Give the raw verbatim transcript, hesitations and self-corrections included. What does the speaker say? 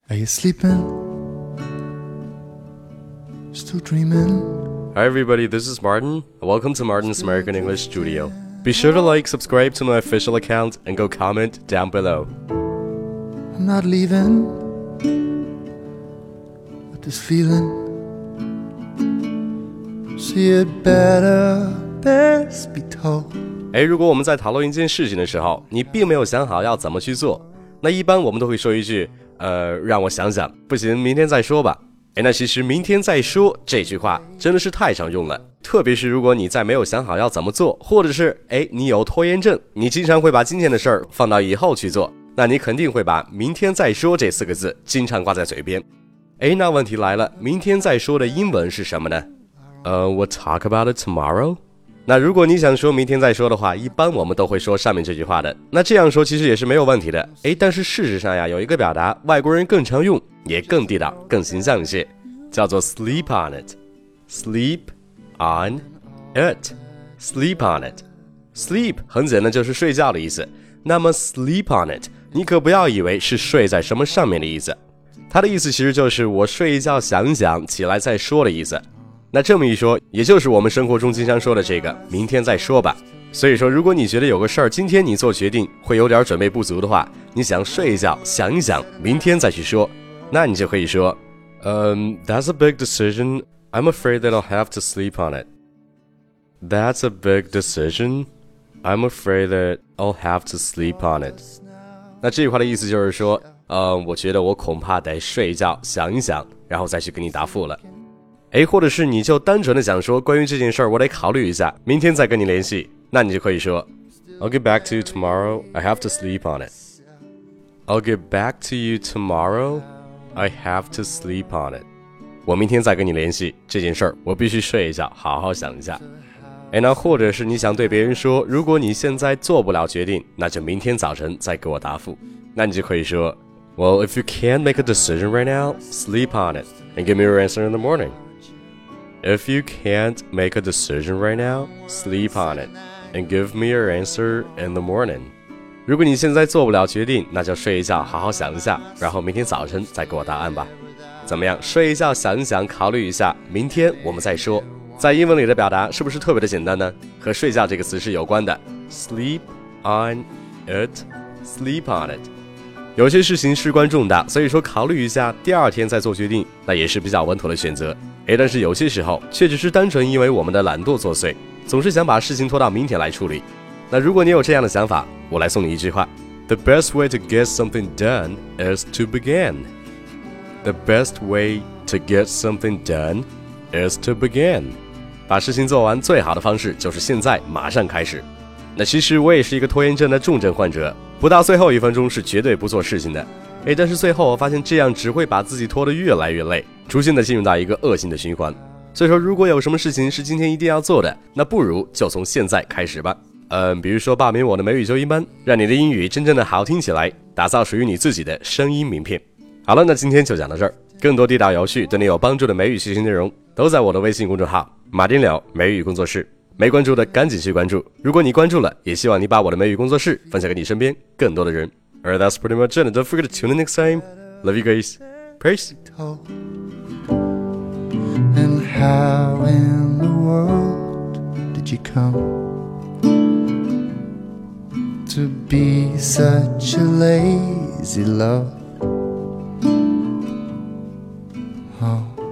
Are you sleeping? Still dreaming? Hi everybody, this is Martin. Welcome to Martin's American English Studio. Be sure to like, subscribe to my official account, and go comment down below. I'm not leaving, but this feeling, see it better, best be told. 诶，如果我们在讨论一件事情的时候，你并没有想好要怎么去做，那一般我们都会说一句，呃，让我想想，不行，明天再说吧。诶，那其实明天再说这句话真的是太常用了，特别是如果你在没有想好要怎么做，或者是诶你有拖延症，你经常会把今天的事儿放到以后去做，那你肯定会把明天再说这四个字经常挂在嘴边。诶，那问题来了，明天再说的英文是什么呢？呃、uh, we'll talk about it tomorrow。那如果你想说明天再说的话，一般我们都会说上面这句话的。那这样说其实也是没有问题的。诶，但是事实上呀，有一个表达外国人更常用，也更地道、更形象一些，叫做 sleep on it。sleep on it。sleep on it。sleep 很简单，就是睡觉的意思。那么 sleep on it， 你可不要以为是睡在什么上面的意思。它的意思其实就是我睡一觉想一想，起来再说的意思。那这么一说，也就是我们生活中经常说的这个明天再说吧。所以说，如果你觉得有个事儿今天你做决定会有点准备不足的话，你想睡一觉想一想，明天再去说，那你就可以说Um, that's a big decision. I'm afraid that I'll have to sleep on it. That's a big decision. I'm afraid that I'll have to sleep on it. 那这句话的意思就是说，呃，我觉得我恐怕得睡一觉想一想，然后再去给你答复了。诶，或者是你就单纯的想说关于这件事儿我得考虑一下，明天再跟你联系，那你就可以说 I'll get back to you tomorrow. I have to sleep on it. I'll get back to you tomorrow.I have to sleep on it. 我明天再跟你联系这件事儿，我必须睡一觉，好好想一下。诶，那或者是你想对别人说，如果你现在做不了决定，那就明天早晨再给我答复。那你就可以说 Well, if you can't make a decision right now, sleep on it and give me your answer in the morning. If you can't make a decision right now, sleep on it and give me your answer in the morning.如果你现在做不了决定，那就睡一觉好好想一下，然后明天早晨再给我答案吧。怎么样，睡一觉想一想，考虑一下，明天我们再说。在英文里的表达是不是特别的简单呢？和睡觉这个词是有关的。 Sleep on it. Sleep on it。 有些事情事关重大，所以说考虑一下，第二天再做决定，那也是比较稳妥的选择。诶，但是有些时候却只是单纯因为我们的懒惰作祟，总是想把事情拖到明天来处理。那如果你有这样的想法，我来送你一句话 The best way to get something done is to begin. The best way to get something done is to begin. 把事情做完最好的方式就是现在马上开始。那其实我也是一个拖延症的重症患者，不到最后一分钟是绝对不做事情的。诶，但是最后我发现这样只会把自己拖得越来越累，逐渐的进入到一个恶性的循环。所以说如果有什么事情是今天一定要做的，那不如就从现在开始吧。嗯，比如说报名我的美语纠音班，让你的英语真正的好听起来，打造属于你自己的声音名片。好了，那今天就讲到这儿。更多地道有趣对你有帮助的美语学习内容，都在我的微信公众号马丁聊美语工作室。没关注的赶紧去关注，如果你关注了，也希望你把我的美语工作室分享给你身边更多的人。Alright, that's pretty much it. Don't forget to tune in next time. Love you guys. Peace. And how in the world did you come?To be such a lazy love. Oh.